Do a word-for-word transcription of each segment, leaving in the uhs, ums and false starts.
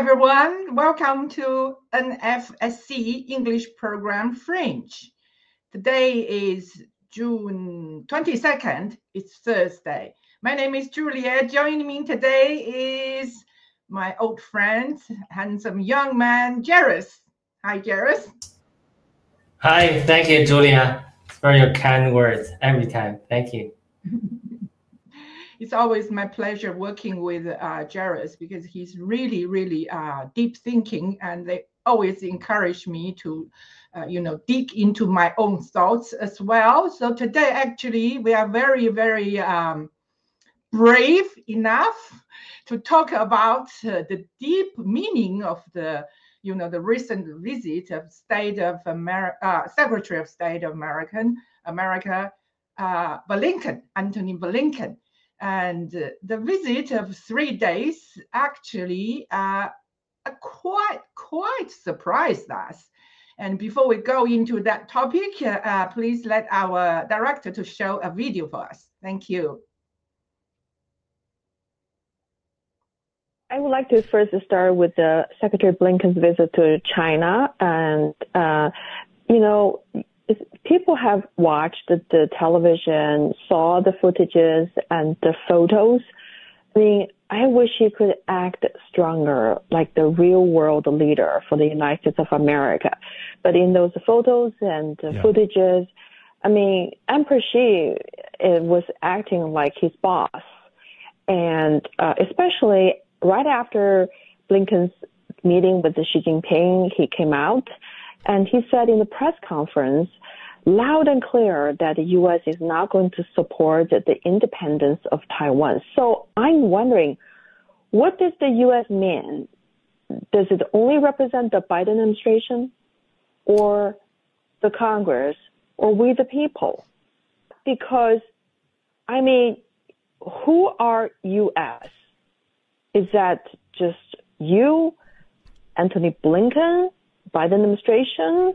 everyone. Welcome to N F S C English Program French. Today is June twenty-second. It's Thursday. My name is Julia. Joining me today is my old friend, handsome young man, Jairus. Hi, Jairus. Hi, thank you, Julia, for your kind words every time. Thank you. It's always my pleasure working with uh, Jairus because he's really, really uh, deep thinking, and they always encourage me to, uh, you know, dig into my own thoughts as well. So today, actually, we are very, very um, brave enough to talk about uh, the deep meaning of the, you know, the recent visit of State of America, uh, Secretary of State of American America, uh, Blinken, Antony Blinken. And uh, the visit of three days actually uh, quite, quite surprised us. And before we go into that topic, uh, uh, please let our director to show a video for us. Thank you. I would like to first start with the Secretary Blinken's visit to China. And, uh, you know, people have watched the, the television, saw the footages and the photos. I mean, I wish he could act stronger, like the real world leader for the United States of America. But in those photos and the yeah. footages, I mean, Emperor Xi it was acting like his boss. And uh, especially right after Blinken's meeting with Xi Jinping, he came out and he said in the press conference, loud and clear, that the U S is not going to support the independence of Taiwan. So I'm wondering, what does the U S mean? Does it only represent the Biden administration or the Congress or we the people? Because, I mean, who are U S? Is that just you, Antony Blinken, Biden administration,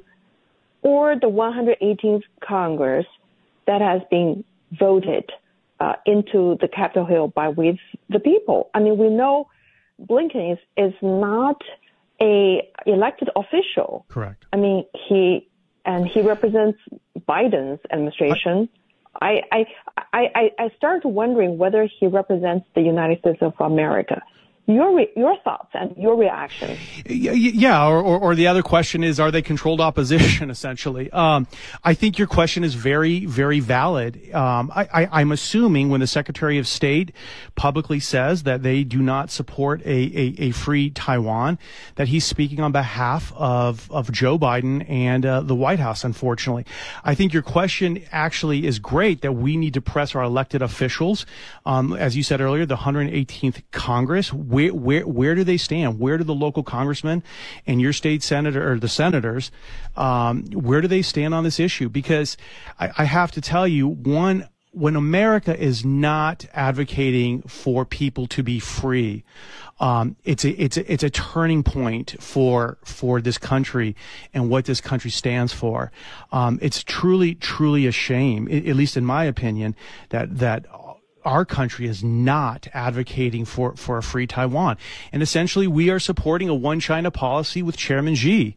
or the one hundred eighteenth Congress that has been voted uh, into the Capitol Hill by we the people? I mean, we know Blinken is, is not a elected official. Correct. I mean, he and he represents Biden's administration. I I I, I started wondering whether he represents the United States of America. Your re- your thoughts and your reaction. Yeah, or, or or the other question is, are they controlled opposition? Essentially, um, I think your question is very very valid. Um, I, I, I'm assuming when the Secretary of State publicly says that they do not support a, a, a free Taiwan, that he's speaking on behalf of of Joe Biden and uh, the White House. Unfortunately, I think your question actually is great. That we need to press our elected officials, um, as you said earlier, the one hundred eighteenth Congress. Where, where, where do they stand? Where do the local congressmen and your state senator or the senators, um, where do they stand on this issue? Because I, I have to tell you, one, when America is not advocating for people to be free, um, it's a, it's a, it's a turning point for, for this country and what this country stands for. Um, it's truly, truly a shame, at least in my opinion, that, that, our country is not advocating for, for a free Taiwan. And essentially, we are supporting a one China policy with Chairman Xi.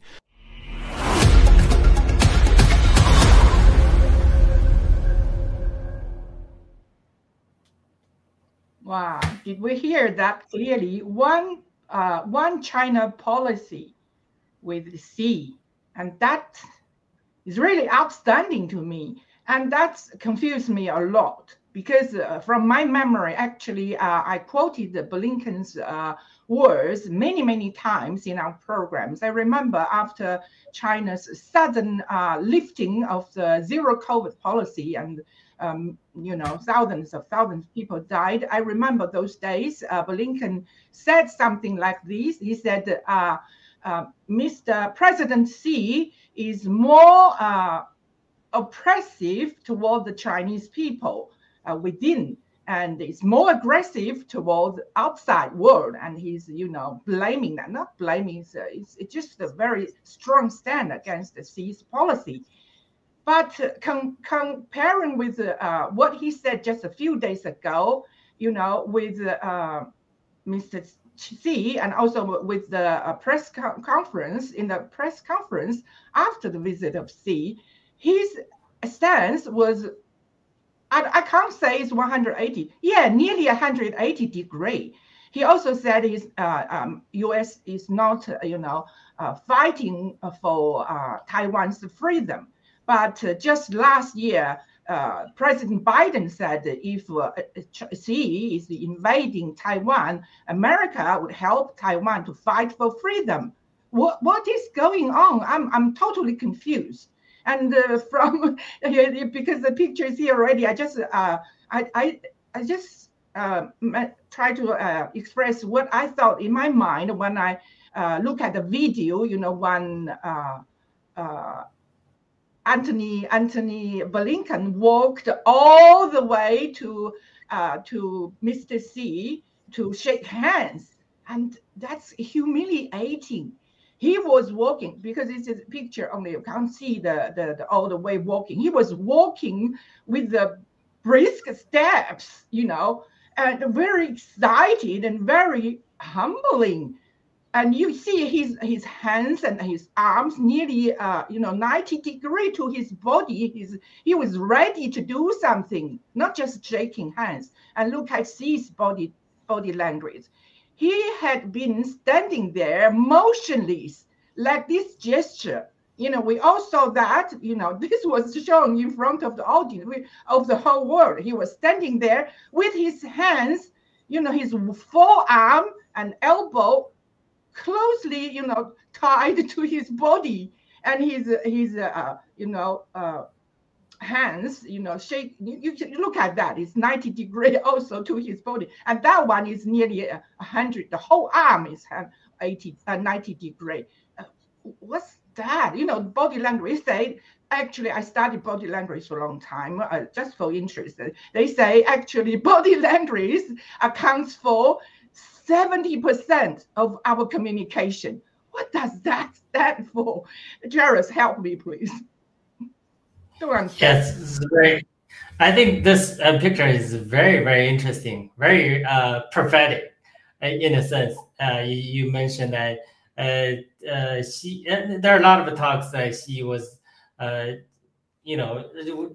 Wow. Did we hear that clearly? One, uh, one China policy with Xi. And that is really outstanding to me. And that's confused me a lot. Because uh, from my memory, actually, uh, I quoted Blinken's uh, words many, many times in our programs. I remember after China's sudden uh, lifting of the zero COVID policy and, um, you know, thousands of thousands of people died. I remember those days, uh, Blinken said something like this. He said, uh, uh, Mister President Xi is more uh, oppressive toward the Chinese people. Uh, within, and it's more aggressive towards outside world, and he's, you know, blaming that, not blaming, it's, uh, it's, it's just a very strong stand against the Xi's policy. But uh, com- comparing with uh, what he said just a few days ago, you know, with uh, Mister Xi, and also with the uh, press co- conference, in the press conference after the visit of Xi, his stance was, I, I can't say it's one hundred eighty. Yeah, nearly one hundred eighty degree. He also said his uh, um, U S is not, uh, you know, uh, fighting for uh, Taiwan's freedom. But uh, just last year, uh, President Biden said if uh, Xi is invading Taiwan, America would help Taiwan to fight for freedom. What what is going on? I'm I'm totally confused. And uh, from because the picture is here already, I just uh, I I I just uh, try to uh, express what I thought in my mind when I uh, look at the video. You know, when uh, uh, Anthony Anthony Blinken walked all the way to uh, to Mister Xi to shake hands, and that's humiliating. He was walking, because it's a picture only, you can't see the, the, the all the way walking. He was walking with the brisk steps, you know, and very excited and very humbling. And you see his his hands and his arms nearly, uh, you know, ninety degree to his body. He's, he was ready to do something, not just shaking hands. And look at Xi's body body language. He had been standing there motionless, like this gesture. You know, we all saw that, you know, this was shown in front of the audience, of the whole world. He was standing there with his hands, you know, his forearm and elbow closely, you know, tied to his body, and his, his uh, you know, uh, hands, you know, shake. You, you look at that. It's ninety degree also to his body, and that one is nearly a hundred. The whole arm is eighty, uh, ninety degree. Uh, what's that? You know, body language. Say, actually, I studied body language for a long time, uh, just for interest. They say actually body language accounts for seventy percent of our communication. What does that stand for? Jairus, help me, please. Yes, it's very. I think this uh, picture is very, very interesting, very uh, prophetic, uh, in a sense. Uh, you, you mentioned that uh, uh, she. Uh, there are a lot of talks that she was, uh, you know,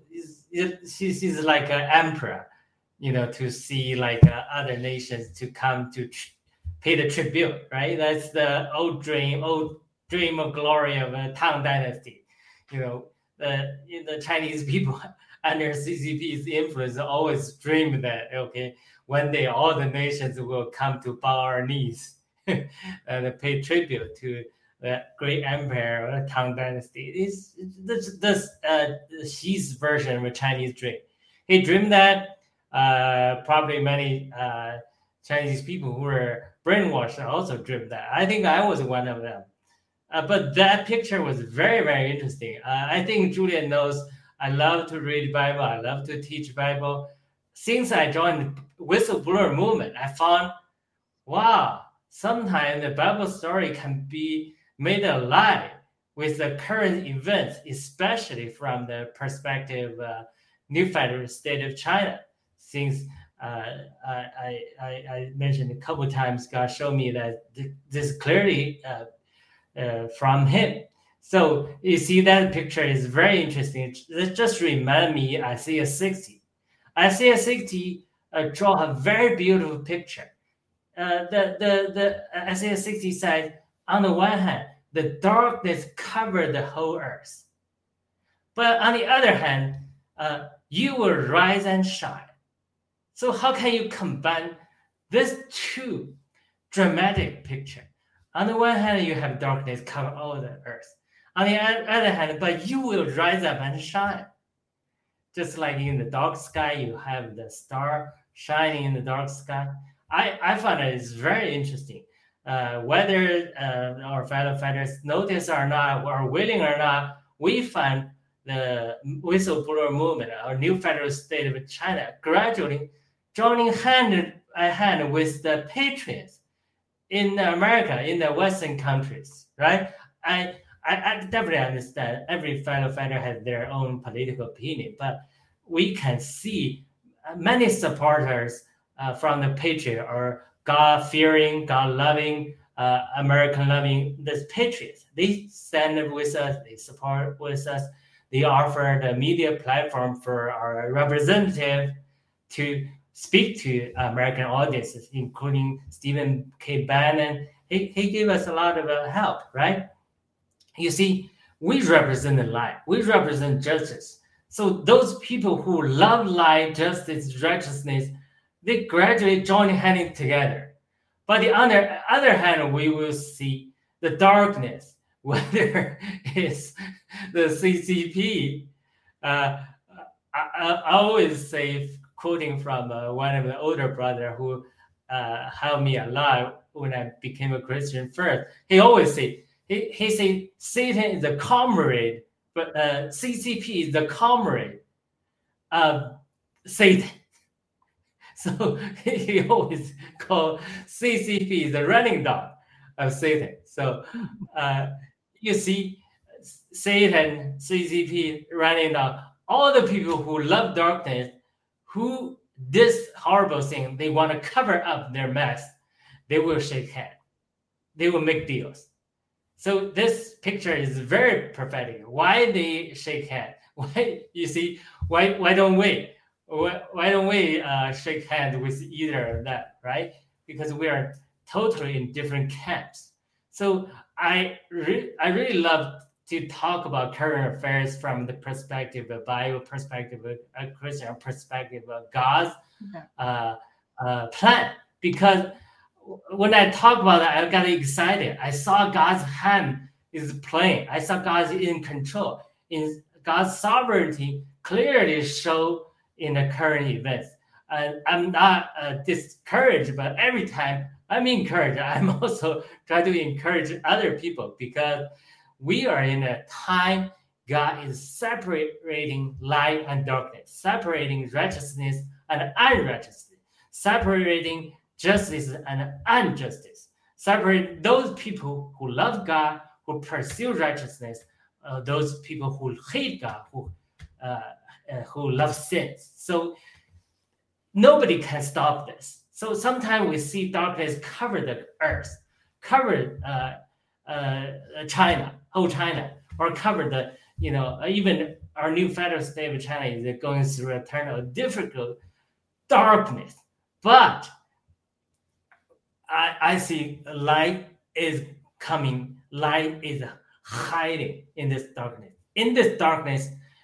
she, she's like an emperor, you know, to see like uh, other nations to come to tr- pay the tribute, right? That's the old dream, old dream of glory of a Tang Dynasty, you know. The, the Chinese people under C C P's influence always dream that, okay, one day all the nations will come to bow our knees and pay tribute to the great empire of the Tang Dynasty. It's, this this uh, Xi's version of a Chinese dream. He dreamed that. Uh, probably many uh, Chinese people who were brainwashed also dreamed that. I think I was one of them. Uh, but that picture was very, very interesting. Uh, I think Julia knows I love to read Bible. I love to teach Bible. Since I joined the Whistleblower movement, I found, wow, sometimes the Bible story can be made alive with the current events, especially from the perspective of uh, new federal state of China. Since uh, I, I, I mentioned a couple of times, God showed me that th- this clearly uh, Uh, from him. So you see that picture is very interesting. It just remind me Isaiah sixty. Isaiah sixty uh, draw a very beautiful picture. Uh, the, the, the Isaiah sixty says, on the one hand, the darkness covered the whole earth. But on the other hand, uh, you will rise and shine. So how can you combine these two dramatic pictures? On the one hand, you have darkness cover all the earth. On the other hand, but you will rise up and shine. Just like in the dark sky, you have the star shining in the dark sky. I, I find it is very interesting. Uh, whether uh, our fellow fighters notice or not, or willing or not, we find the whistleblower movement, our new federal state of China, gradually joining hand in hand with the patriots in America, in the Western countries, right? I, I, I definitely understand every fellow fighter has their own political opinion, but we can see many supporters uh, from the Patriot are God-fearing, God-loving, uh, American-loving, the patriots. They stand with us. They support with us. They offer the media platform for our representative to speak to American audiences, including Stephen K. Bannon. He, he gave us a lot of uh, help, right? You see, we represent the light. We represent justice. So those people who love light, justice, righteousness, they gradually join hands together. But the other, other hand, we will see the darkness, whether it's the C C P. Uh, I, I always say, quoting from uh, one of the older brother who uh, helped me a lot when I became a Christian first, he always say, he, he say, Satan is a comrade, but uh, C C P is the comrade of Satan. So he always called C C P the running dog of Satan. So uh, you see, Satan, C C P, running dog, all the people who love darkness, who this horrible thing, they want to cover up their mess, they will shake hands. They will make deals. So this picture is very prophetic. Why they shake hands? Why, you see, why why don't we? Why, why don't we uh, shake hands with either of that, right? Because we are totally in different camps. So I, re- I really love to talk about current affairs from the perspective of Bible, perspective of a Christian perspective of God's uh, uh, plan. Because when I talk about that, I got excited. I saw God's hand is playing. I saw God's in control. In God's sovereignty clearly show in the current events. Uh, I'm not uh, discouraged, but every time I'm encouraged, I'm also trying to encourage other people, because we are in a time God is separating light and darkness, separating righteousness and unrighteousness, separating justice and injustice, separate those people who love God, who pursue righteousness, uh, those people who hate God, who uh, uh, who love sins. So nobody can stop this. So sometimes we see darkness cover the earth, cover uh, uh, China, whole China, or cover the, you know, even our new federal state of China is going through a turn of difficult darkness. But I, I see light is coming, light is hiding in this darkness. In this darkness,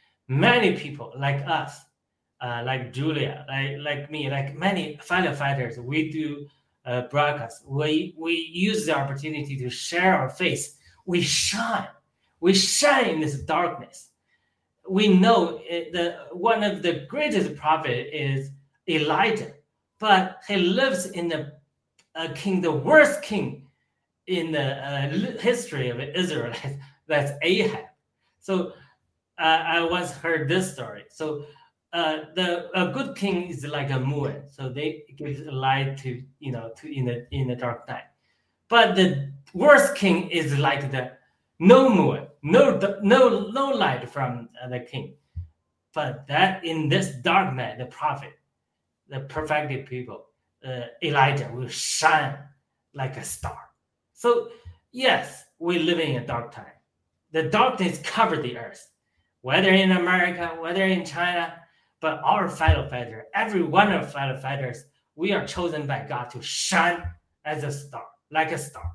many people like us, uh, like Julia, like, like me, like many firefighters, we do uh, broadcasts. We, we use the opportunity to share our faith. We shine. We shine in this darkness. We know it, the, one of the greatest prophets is Elijah, but he lives in the uh, king, the worst king in the uh, history of Israel. That's Ahab. So uh, I once heard this story. So uh, the a good king is like a moon. So they give light to, you know, to in the in the dark night. But the worst king is like the no moon, no no no light from the king. But that in this dark night, the prophet, the perfected people, uh, Elijah will shine like a star. So yes, we live in a dark time. The darkness covered the earth, whether in America, whether in China, but our fellow fighters, every one of fellow fighters, we are chosen by God to shine as a star, like a star.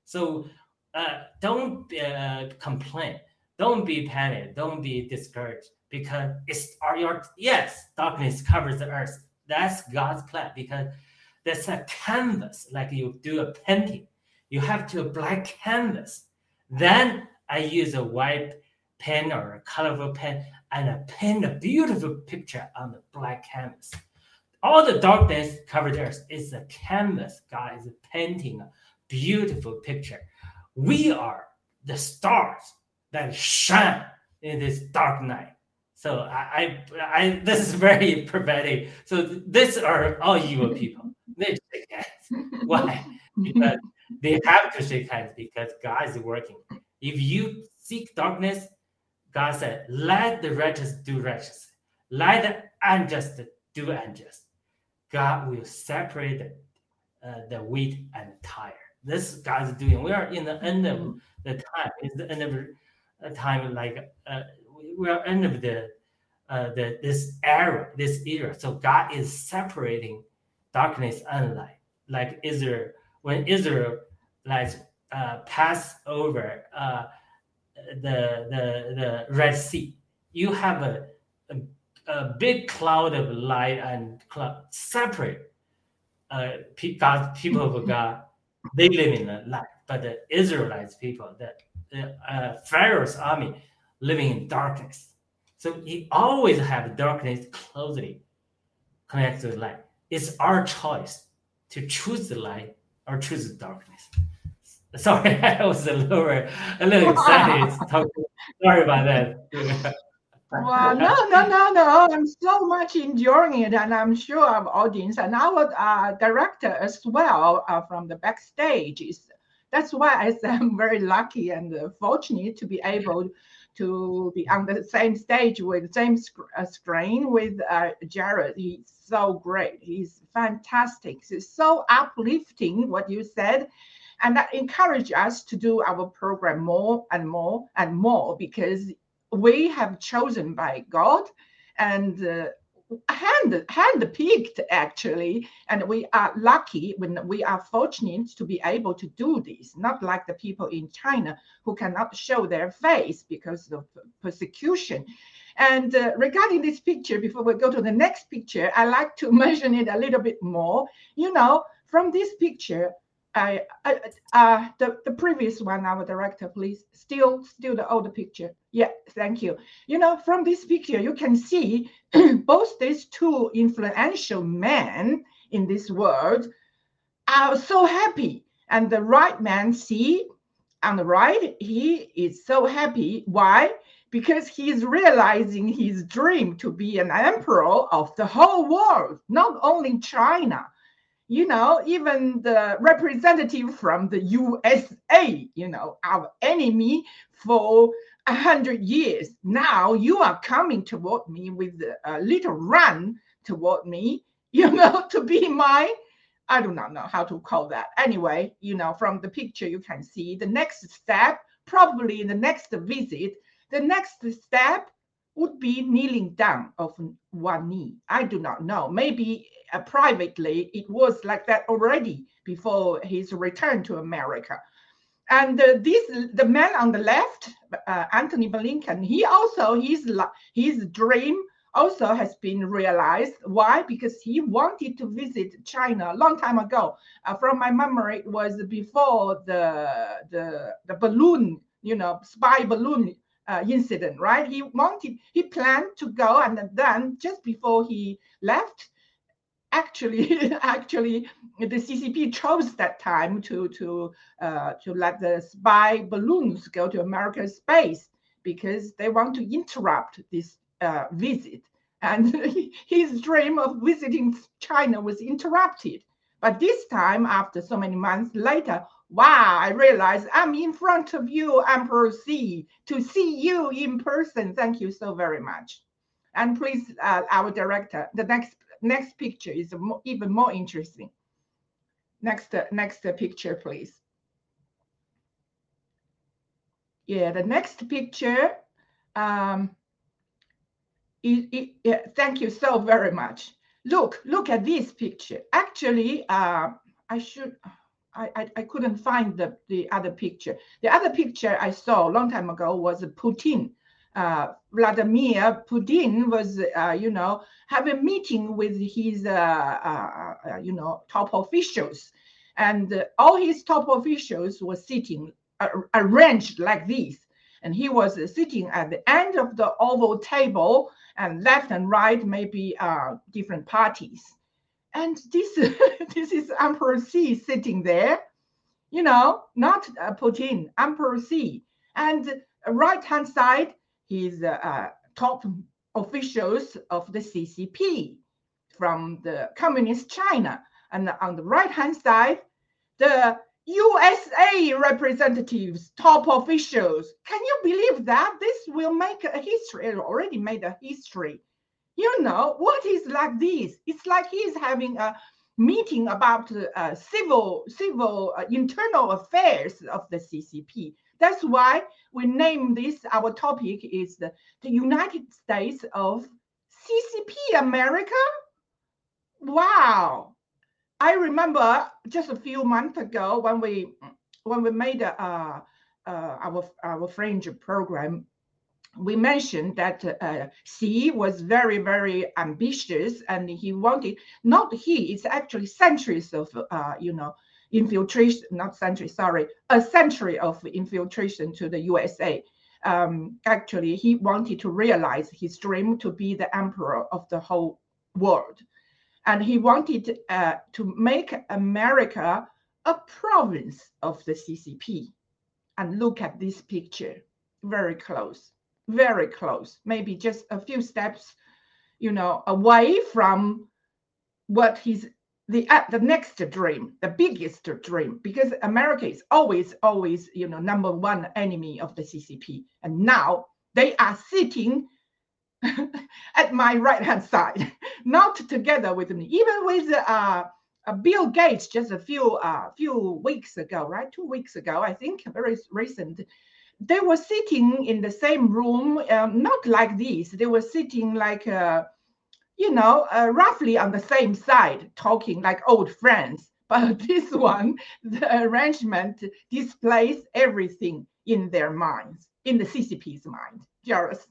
So uh, don't uh, complain. Don't be panicked. Don't be discouraged, because it's our, your, yes, darkness covers the earth. That's God's plan, because that's a canvas, like you do a painting. You have to a black canvas. Then I use a white pen or a colorful pen, and I paint a beautiful picture on the black canvas. All the darkness covered the earth is a canvas. God is painting a beautiful picture. We are the stars that shine in this dark night. So I, I, I this is very prophetic. So these are all evil people. They shake hands. Why? Because they have to shake hands, because God is working. If you seek darkness, God said, let the righteous do righteous. Let the unjust do unjust. God will separate uh, the wheat and tire. This God's doing. We are in the end of Mhm. the time. It's the end of a time, like uh, we we are end of the uh, the this era, this era. So God is separating darkness and light, like Israel when Israel like uh, pass over uh, the the the Red Sea. You have a, a a big cloud of light and cloud separate uh, pe- God's people of God. They live in the light, but the Israelites people, the, the uh, Pharaoh's army, living in darkness. So he always have darkness closely connected to light. It's our choice to choose the light or choose the darkness. Sorry, I was a little, a little excited. Talking. Sorry about that. Well, no, no, no, no. I'm so much enjoying it, and I'm sure our audience and our uh, director as well uh, from the backstage is. That's why I say I'm very lucky and uh, fortunate to be able to be on the same stage with the same sc- uh, screen with uh, Jared. He's so great. He's fantastic. It's so uplifting what you said. And that encouraged us to do our program more and more and more because we have chosen by God and uh, hand hand-picked actually, and we are lucky when we are fortunate to be able to do this. Not like the people in China who cannot show their face because of persecution. And uh, regarding this picture, before we go to the next picture, I like to mention it a little bit more. You know, from this picture. I, I uh the, the previous one, our director, please. Still, still the older picture. Yeah, thank you. You know, from this picture, you can see both these two influential men in this world are so happy. And the right man, see, on the right, he is so happy. Why? Because he is realizing his dream to be an emperor of the whole world, not only China. You know, even the representative from the U S A, you know, our enemy for a hundred years. Now you are coming toward me with a little run toward me, you know, to be my, I do not know how to call that. Anyway, you know, from the picture you can see the next step, probably in the next visit, the next step would be kneeling down of one knee. I do not know. Maybe uh, privately it was like that already before his return to America. And uh, this, the man on the left, uh, Antony Blinken, he also his his dream also has been realized. Why? Because he wanted to visit China a long time ago. Uh, from my memory, it was before the the the balloon, you know, spy balloon Uh, incident, right? He wanted, he planned to go, and then just before he left, actually, actually, the C C P chose that time to to uh, to let the spy balloons go to America's space because they want to interrupt this uh, visit, and his dream of visiting China was interrupted. But this time, after so many months later, wow, I realized I'm in front of you, Emperor Xi, to see you in person. Thank you so very much. And please, uh, our director, the next next picture is more, even more interesting. Next, uh, next uh, picture, please. Yeah, the next picture. Um, it, it, yeah, thank you so very much. Look, look at this picture. Actually, uh, I should. I, I, I couldn't find the, the other picture. The other picture I saw a long time ago was Putin. Uh, Vladimir Putin was, uh, you know, having a meeting with his, uh, uh, uh, you know, top officials. And uh, all his top officials were sitting uh, arranged like this. And he was uh, sitting at the end of the oval table, and left and right, maybe uh, different parties. And this, this is Emperor Xi sitting there, you know, not uh, Putin, Emperor Xi. And right-hand side, his uh, uh, top officials of the C C P from the Communist China. And on the right-hand side, the U S A representatives, top officials. Can you believe that? This will make a history, it already made a history. You know, what is like this? It's like he's having a, meeting about uh, civil civil uh, internal affairs of the C C P. That's why we name this, our topic is the, the United States of C C P America. Wow. I remember just a few months ago when we when we made a, uh, uh, our our fringe program, we mentioned that uh, Xi was very, very ambitious, and he wanted, not he, it's actually centuries of, uh, you know, infiltration, not centuries, sorry, a century of infiltration to the U S A. Um, actually, he wanted to realize his dream to be the emperor of the whole world. And he wanted uh, to make America a province of the C C P. And look at this picture, very close. Very close, maybe just a few steps, you know, away from what he's the uh, the next dream, the biggest dream, because America is always, always, you know, number one enemy of the C C P. And now they are sitting at my right hand side, not together with me, even with uh, uh, Bill Gates just a few uh, few weeks ago, right? Two weeks ago, I think, very recent. They were sitting in the same room, um, not like this. They were sitting like, uh, you know, uh, roughly on the same side, talking like old friends. But this one, the arrangement displays everything in their minds, in the C C P's mind. Jairus.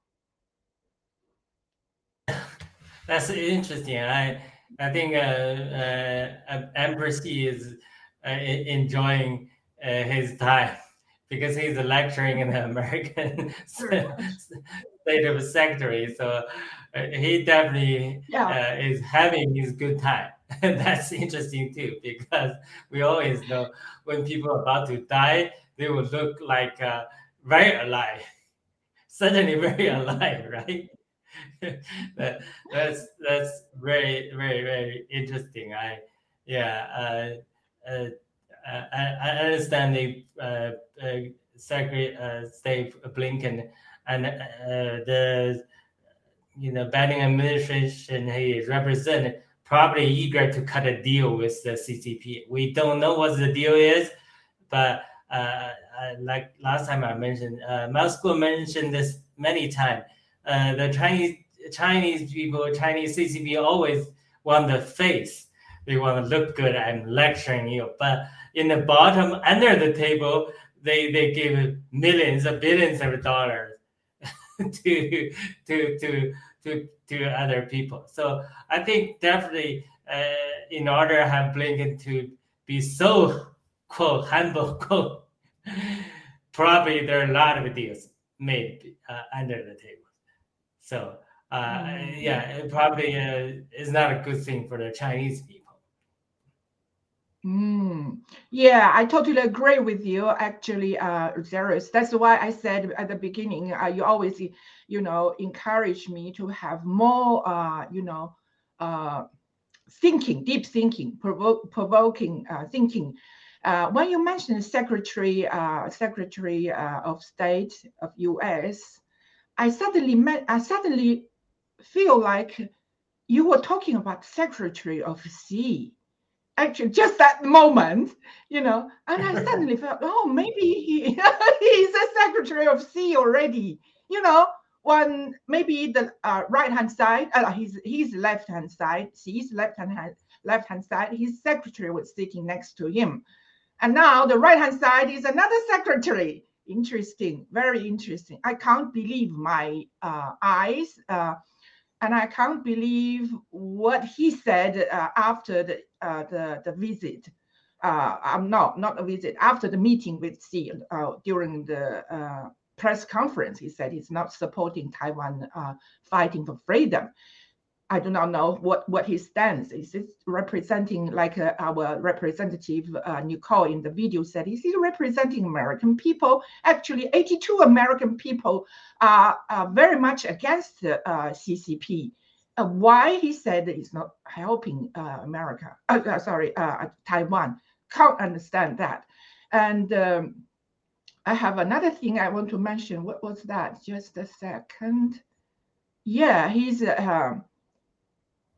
That's interesting. I I think uh, uh, Emperor Xi is uh, enjoying uh, his time, because he's lecturing in the American State of Secretary. So uh, he definitely yeah. uh, is having his good time. That's interesting too, because we always know when people are about to die, they will look like uh, very alive, certainly very alive, right? that, that's that's very, very, very interesting. I, yeah, uh, uh, I, I understand the uh, uh, Secretary uh, State Blinken and uh, the you know Biden administration he represent probably eager to cut a deal with the C C P. We don't know what the deal is, but uh, uh, like last time I mentioned, uh, Moscow mentioned this many times. Uh, the Chinese Chinese people, Chinese C C P always want the face. They want to look good and lecturing you, but in the bottom, under the table, they, they give millions or billions of dollars to to to to to other people. So I think definitely, uh, in order to have Blinken to be so quote humble quote, probably there are a lot of deals made uh, under the table. So uh, mm. yeah, it probably uh, is not a good thing for the Chinese people. Mm. Yeah, I totally agree with you, actually, uh, Jairus. That's why I said at the beginning, uh, you always, you know, encourage me to have more, uh, you know, uh, thinking, deep thinking, provo- provoking uh, thinking. Uh, when you mentioned Secretary, uh, Secretary uh, of State of U S, I suddenly met, I suddenly feel like you were talking about Secretary of Xi. Actually, just that moment, you know, and I suddenly felt, oh, maybe he he's a Secretary of Xi already, you know. One maybe the uh, right hand side, uh, his his left hand side, Xi's left hand left hand side, his secretary was sitting next to him, and now the right hand side is another secretary. Interesting, very interesting. I can't believe my uh, eyes. Uh, And I can't believe what he said uh, after the, uh, the the visit. Uh, um, no, not a visit. After the meeting with Xi uh, during the uh, press conference, he said he's not supporting Taiwan uh, fighting for freedom. I do not know what, what his stance is. Is representing, like uh, our representative uh, Nicole in the video said, is he representing American people? Actually, eighty-two American people are, are very much against the uh, C C P. Uh, why he said he's not helping uh, America? Uh, uh, sorry, uh, Taiwan. Can't understand that. And um, I have another thing I want to mention. What was that? Just a second. Yeah, he's. Uh,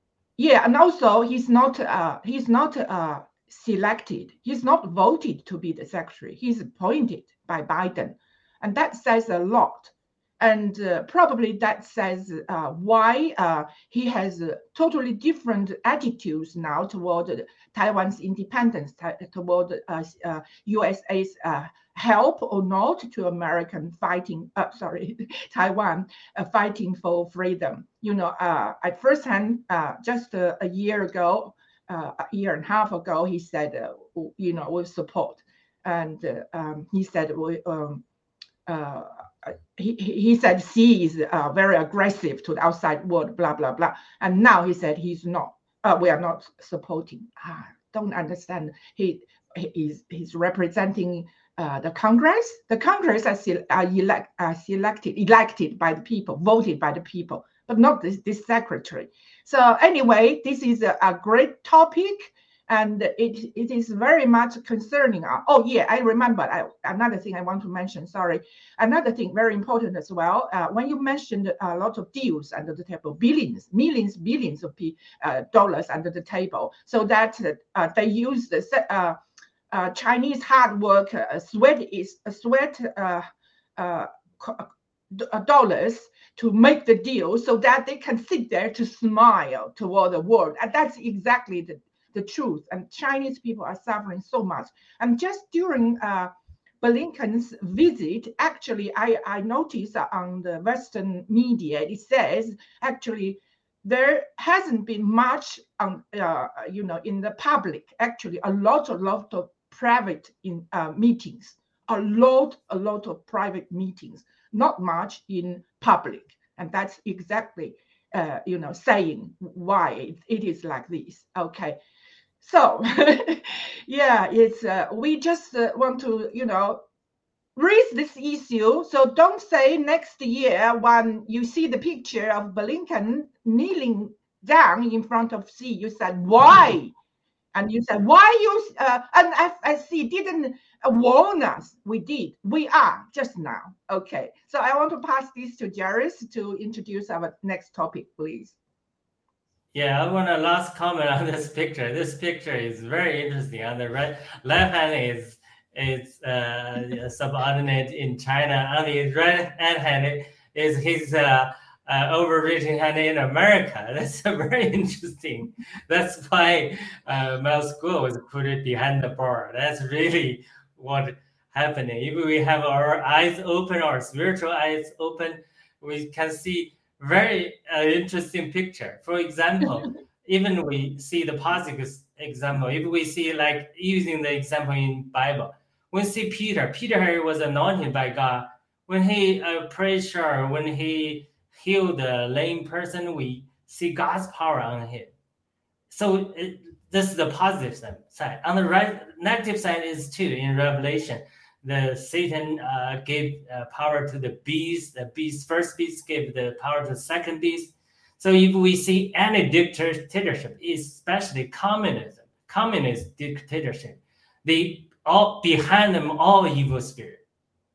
yeah, and also he's not uh, he's not uh, selected. He's not voted to be the secretary. He's appointed by Biden, and that says a lot. And uh, probably that says uh, why uh, he has uh, totally different attitudes now toward Taiwan's independence, t- toward uh, uh, U S A's uh, help or not to American fighting, uh, sorry, Taiwan uh, fighting for freedom. You know, uh, at first hand, uh, just uh, a year ago, uh, a year and a half ago, he said, uh, you know, with support. And uh, um, he said, we, um, uh, he, he said Xi is uh, very aggressive to the outside world, blah, blah, blah. And now he said he's not, uh, we are not supporting. Ah, don't understand. He, he is he's representing uh, the Congress. The Congress are, se- are, elect, are selected, elected by the people, voted by the people, but not this, this secretary. So anyway, this is a, a great topic. And it, it is very much concerning. Oh, yeah, I remember I, another thing I want to mention. Sorry. Another thing very important as well. Uh, when you mentioned a lot of deals under the table, billions, millions, billions of uh, dollars under the table, so that uh, they use the uh, uh, Chinese hard work, uh, sweat is uh, sweat uh, uh, dollars to make the deal so that they can sit there to smile toward the world. And that's exactly the the truth. And Chinese people are suffering so much. And just during uh, Blinken's visit, actually, I, I noticed on the Western media, it says actually there hasn't been much, um, uh, you know, in the public. Actually, a lot, a lot of private in uh, meetings, a lot, a lot of private meetings, not much in public. And that's exactly, uh, you know, saying why it, it is like this. Okay. So, yeah, it's uh, we just uh, want to, you know, raise this issue. So don't say next year when you see the picture of Blinken kneeling down in front of Xi, you said, why? And you said, why you, uh, and F S C didn't warn us. We did. We are just now. Okay. So I want to pass this to Jairus to introduce our next topic, please. Yeah, I want a last comment on this picture. This picture is very interesting. On the right, left hand is is uh, subordinate in China. On the right hand is his uh, uh, overreaching hand in America. That's very interesting. That's why uh, Mel School was put it behind the bar. That's really what happening. If we have our eyes open, our spiritual eyes open, we can see very uh, interesting picture. For example, even we see the positive example. If we see like using the example in Bible, we see Peter. Peter was anointed by God. When he uh, prayed, sure, when he healed the lame person, we see God's power on him. So it, this is the positive side. On the right, negative side is too in Revelation. The Satan uh, gave uh, power to the beast. The beast, first beast, gave the power to the second beast. So if we see any dictatorship, especially communism, communist dictatorship, they all behind them all evil spirit,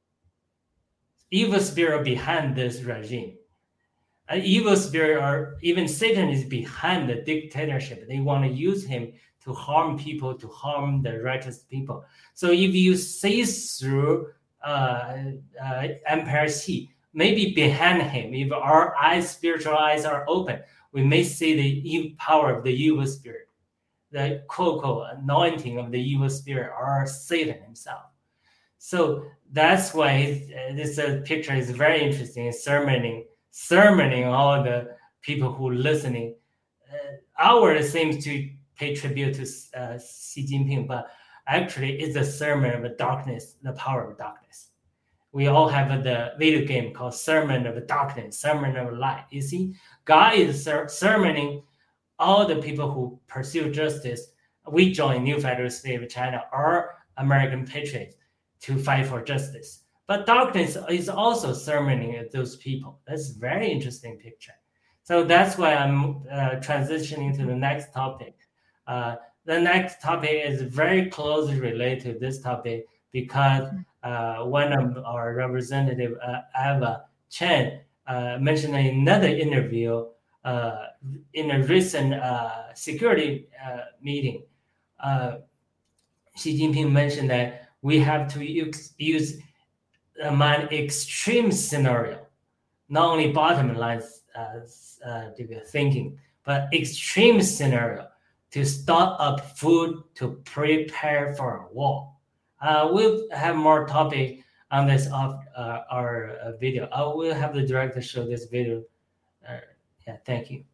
evil spirit behind this regime. An evil spirit, or even Satan, is behind the dictatorship. They want to use him to harm people, to harm the righteous people. So if you see through uh, uh, Emperor Xi, maybe behind him, if our eyes, spiritual eyes are open, we may see the evil power of the evil spirit, the quote-unquote anointing of the evil spirit, or Satan himself. So that's why uh, this uh, picture is very interesting, sermoning, sermoning all the people who are listening. Uh, our seems to pay tribute to uh, Xi Jinping, but actually it's a sermon of darkness, the power of darkness. We all have the video game called Sermon of Darkness, Sermon of Light. You see, God is ser- sermoning all the people who pursue justice. We join New Federal State of China or American patriots to fight for justice. But darkness is also sermoning those people. That's a very interesting picture. So that's why I'm uh, transitioning to the next topic. Uh, the next topic is very closely related to this topic because uh, one of our representative, uh, Eva Chen, uh, mentioned in another interview uh, in a recent uh, security uh, meeting, uh, Xi Jinping mentioned that we have to use, use an extreme scenario, not only bottom line uh, uh, thinking, but extreme scenario to stock up food to prepare for a war. Uh, we'll have more topic on this of uh, our uh, video. I will have the director show this video. Uh, yeah, thank you.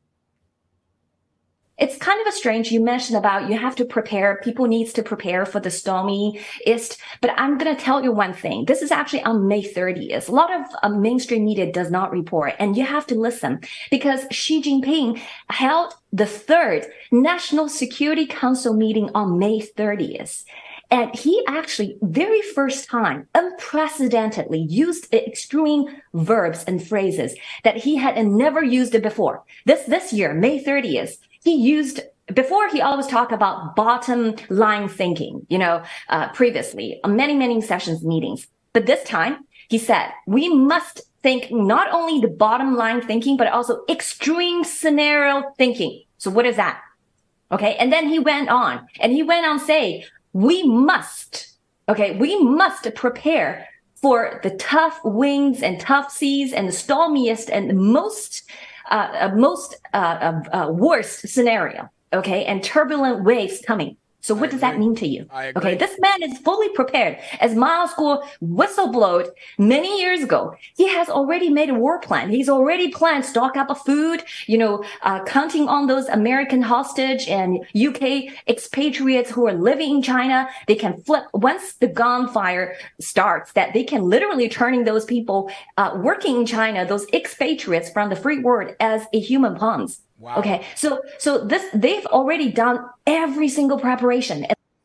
It's kind of a strange, you mentioned about you have to prepare, people needs to prepare for the stormy east, but I'm going to tell you one thing. This is actually on May thirtieth. A lot of uh, mainstream media does not report, and you have to listen because Xi Jinping held the third National Security Council meeting on May thirtieth. And he actually, very first time, unprecedentedly used extreme verbs and phrases that he had never used it before. This, this year, May thirtieth, he used, before he always talked about bottom line thinking, you know, uh, previously, on many, many sessions, meetings. But this time, he said, we must think not only the bottom line thinking, but also extreme scenario thinking. So what is that? Okay. And then he went on and he went on saying, we must, okay, we must prepare for the tough winds and tough seas and the stormiest and the most, uh, most, uh, uh, worst scenario, okay, and turbulent waves coming. So what does that mean to you? Okay, this man is fully prepared. As Mao School whistleblowed many years ago, he has already made a war plan. He's already planned stock up of food, you know, uh, counting on those American hostage and U K expatriates who are living in China. They can flip once the gunfire starts, that they can literally turning those people uh, working in China, those expatriates from the free world, as a human pawns. Wow. Okay, so so this they've already done every single preparation.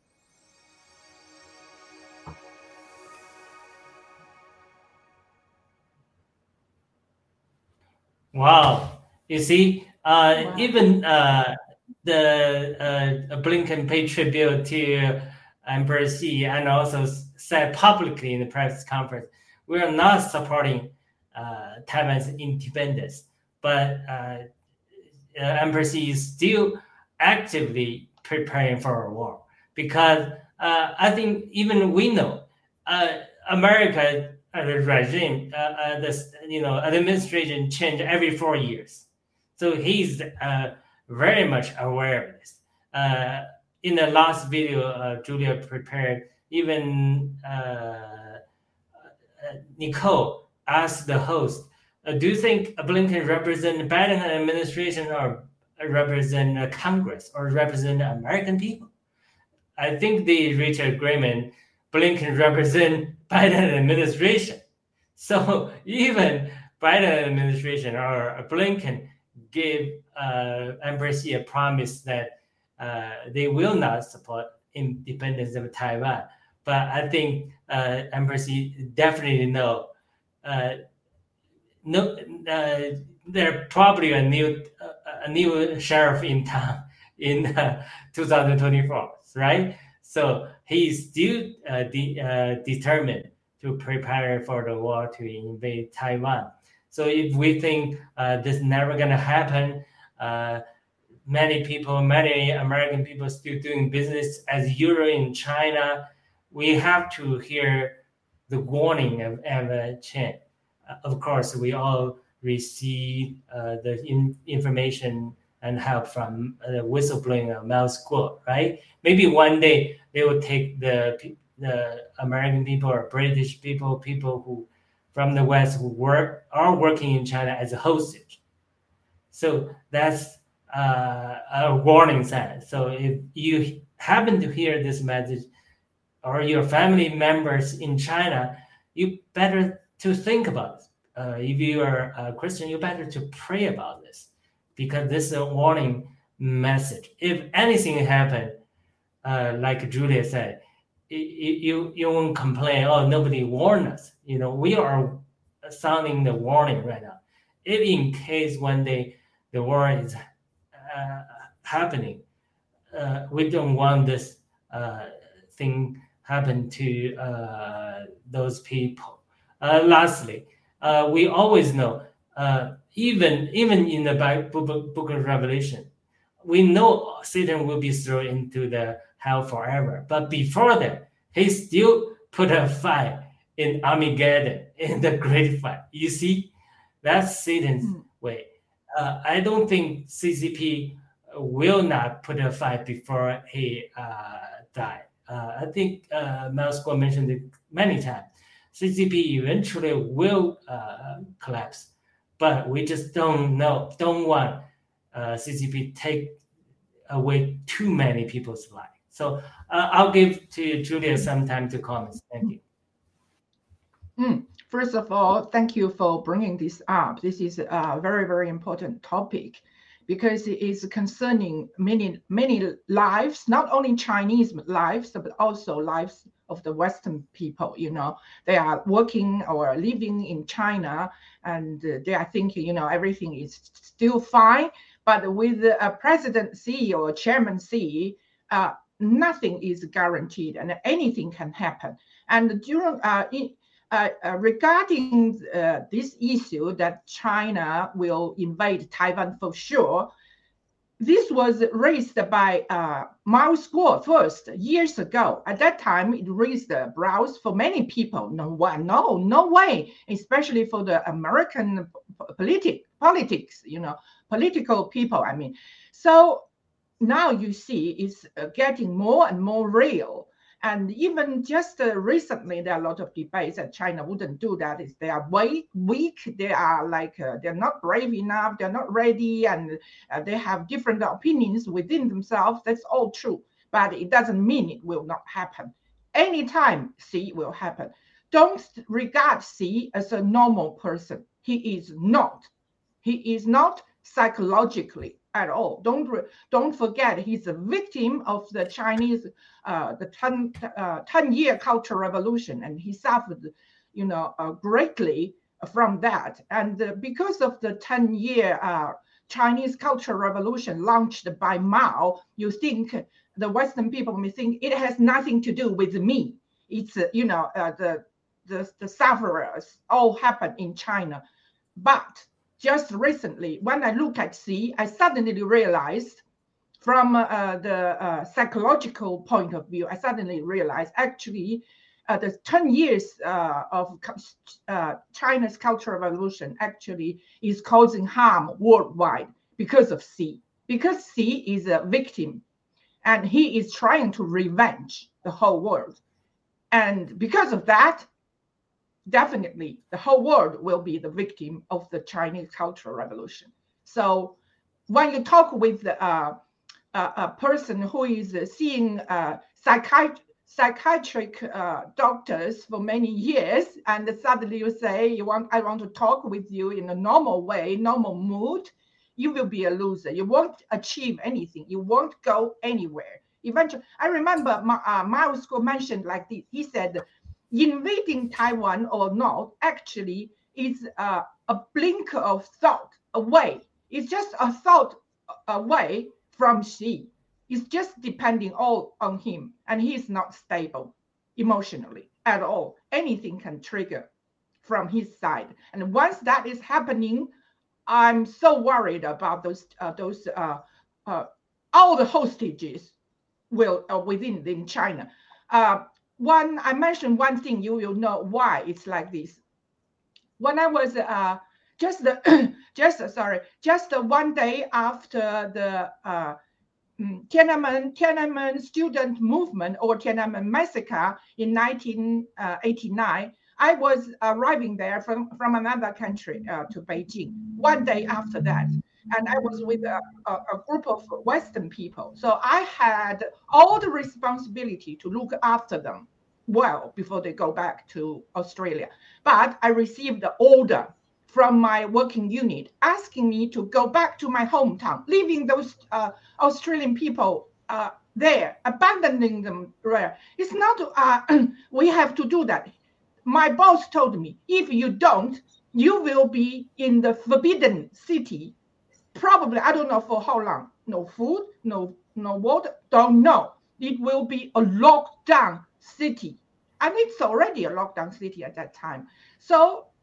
Wow, you see, uh, wow. even uh, the uh, Blinken paid tribute to Emperor Xi and also said publicly in the press conference, we are not supporting uh, Taiwan's independence, but uh, Uh, Emperor Xi is still actively preparing for a war because uh, I think even we know uh, America uh, the regime, uh, uh, this you know administration change every four years, so he's uh, very much aware of this. Uh, in the last video, uh, Julia prepared. Even uh, uh, Nicole asked the host, Uh, do you think Blinken represent the Biden administration or represent uh, Congress or represent the American people? I think they reached agreement. Blinken represent Biden administration. So even Biden administration or Blinken gave uh, Embassy a promise that uh, they will not support independence of Taiwan. But I think uh, Embassy definitely know uh, No, uh, they're probably a new uh, a new sheriff in town in uh, two thousand twenty-four, right? So he's still uh, de uh, determined to prepare for the war to invade Taiwan. So if we think uh, this is never going to happen, uh, many people, many American people still doing business as usual in China, we have to hear the warning of Emma Chen. Uh, of course, we all receive uh, the in information and help from uh, the whistleblowing of Mao School, right? Maybe one day they will take the the American people or British people, people who from the West who work are working in China as a hostage. So that's uh, a warning sign. So if you happen to hear this message, or your family members in China, you better to think about it. Uh, if you are a Christian, you better to pray about this because this is a warning message. If anything happened, uh, like Julia said, it, you you won't complain. Oh, nobody warned us. You know, we are sounding the warning right now. If in case one day the war is uh, happening, uh, we don't want this uh, thing happen to uh, those people. Uh, lastly. Uh, we always know uh, even even in the Book of Revelation, we know Satan will be thrown into the hell forever. But before that, he still put a fight in Armageddon, in the great fight. You see, that's Satan's mm. way. Uh, I don't think C C P will not put a fight before he uh, died. Uh, I think uh, Mel Square mentioned it many times. C C P eventually will uh, collapse, but we just don't know, don't want uh, C C P take away too many people's lives. So uh, I'll give to Julia some time to comment. Thank you. Mm. First of all, thank you for bringing this up. This is a very, very important topic because it is concerning many, many lives, not only Chinese lives, but also lives of the Western people. You know, they are working or living in China and they are thinking, you know, everything is still fine. But with a President Xi or Chairman Xi, uh, nothing is guaranteed and anything can happen. And during uh, in, Uh, uh, regarding uh, this issue that China will invade Taiwan for sure, this was raised by uh, Mao Square first years ago. At that time, it raised the brows for many people. No one, no, no way, especially for the American politic, politics, you know, political people. I mean, so now you see it's uh, getting more and more real. And even just uh, recently, there are a lot of debates that China wouldn't do that. Is they are weak, weak. They are like uh, they're not brave enough. They're not ready, and uh, they have different opinions within themselves. That's all true, but it doesn't mean it will not happen. Anytime Xi will happen. Don't regard Xi as a normal person. He is not. He is not psychologically at all. Don't don't forget, he's a victim of the Chinese, uh, the ten, uh, ten year Cultural Revolution, and he suffered, you know, uh, greatly from that. And uh, because of the ten year uh, Chinese Cultural Revolution launched by Mao, you think the Western people may think it has nothing to do with me. It's uh, you know uh, the the the sufferers all happen in China, but just recently, when I look at Xi, I suddenly realized from uh, the uh, psychological point of view, I suddenly realized actually uh, the ten years uh, of uh, China's Cultural Revolution actually is causing harm worldwide because of Xi. Because Xi is a victim and he is trying to revenge the whole world. And because of that, definitely the whole world will be the victim of the Chinese Cultural Revolution. So when you talk with uh, a, a person who is seeing uh, psychiat- psychiatric uh, doctors for many years, and suddenly you say, "You want, I want to talk with you in a normal way, normal mood," you will be a loser. You won't achieve anything. You won't go anywhere. Eventually, I remember Ma, uh, Mao Square mentioned like this. He said, invading Taiwan or not actually is uh, a blink of thought away. It's just a thought away from Xi. It's just depending all on him, and he's not stable emotionally at all. Anything can trigger from his side, and once that is happening, I'm so worried about those uh, those uh, uh, all the hostages will uh, within in China. Uh, One, I mentioned one thing, you will know why it's like this. When I was uh, just the, just sorry, just one day after the uh, Tiananmen Tiananmen student movement or Tiananmen massacre in nineteen eighty-nine, I was arriving there from from another country uh, to Beijing. One day after that, and I was with a, a, a group of Western people. So I had all the responsibility to look after them well before they go back to Australia. But I received the order from my working unit asking me to go back to my hometown, leaving those uh, Australian people uh, there, abandoning them there. It's not, uh, we have to do that. My boss told me, if you don't, you will be in the forbidden city. Probably, I don't know for how long. No food, no no water, don't know. It will be a lockdown city. And it's already a lockdown city at that time. So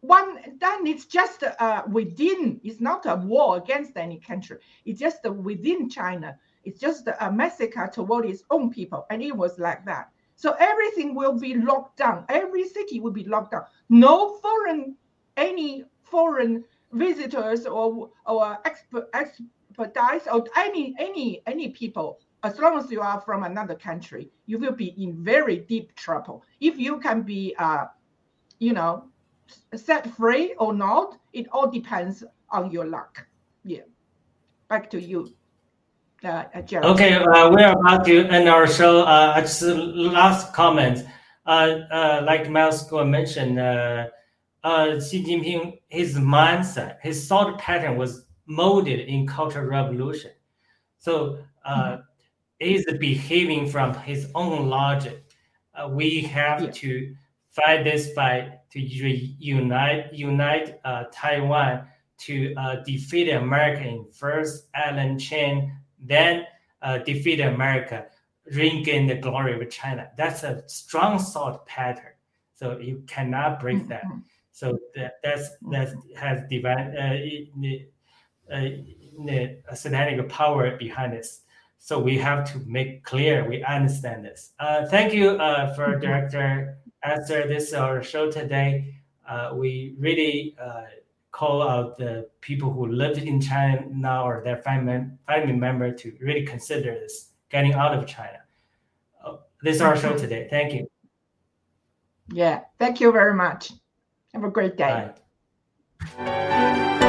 one, then it's just uh, within, it's not a war against any country. It's just within China. It's just a massacre toward its own people. And it was like that. So everything will be locked down. Every city will be locked down. No foreign, any foreign visitors or or expert, expertise or any any any people. As long as you are from another country, you will be in very deep trouble. If you can be, uh, you know, set free or not, it all depends on your luck. Yeah. Back to you, uh, Jared. Okay, uh, we're about to end our show. Uh, just last comment. Uh, uh, like Miles mentioned, uh, uh, Xi Jinping, his mindset, his thought pattern was molded in Cultural Revolution. So uh, mm-hmm. he's behaving from his own logic. Uh, we have yeah. to fight this fight to unite unite uh, Taiwan to uh, defeat America in first, Alan Chen, then uh, defeat America, regain the glory of China. That's a strong thought pattern. So you cannot break that. So that that's that has divine uh, the, uh, the satanic power behind this. So we have to make clear we understand this. Uh, thank you uh, for Director Esther. This is our show today. Uh, we really uh, call out the people who live in China now or their family family member to really consider this, getting out of China. Uh, this is our show today. Thank you. Yeah, thank you very much. Have a great day. Bye.